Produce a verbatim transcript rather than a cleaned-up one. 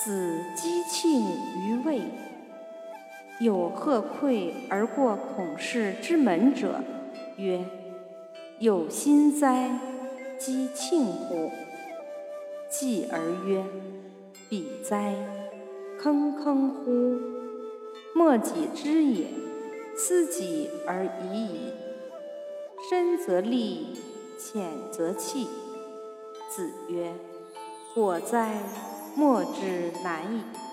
子击磬于卫。有鹤馈而过孔氏之门者，曰：有心哉，击磬乎！继而曰：彼哉，坑坑乎！莫己知也，斯己而已矣。深则利，浅则弃。子曰：果哉，莫之难矣。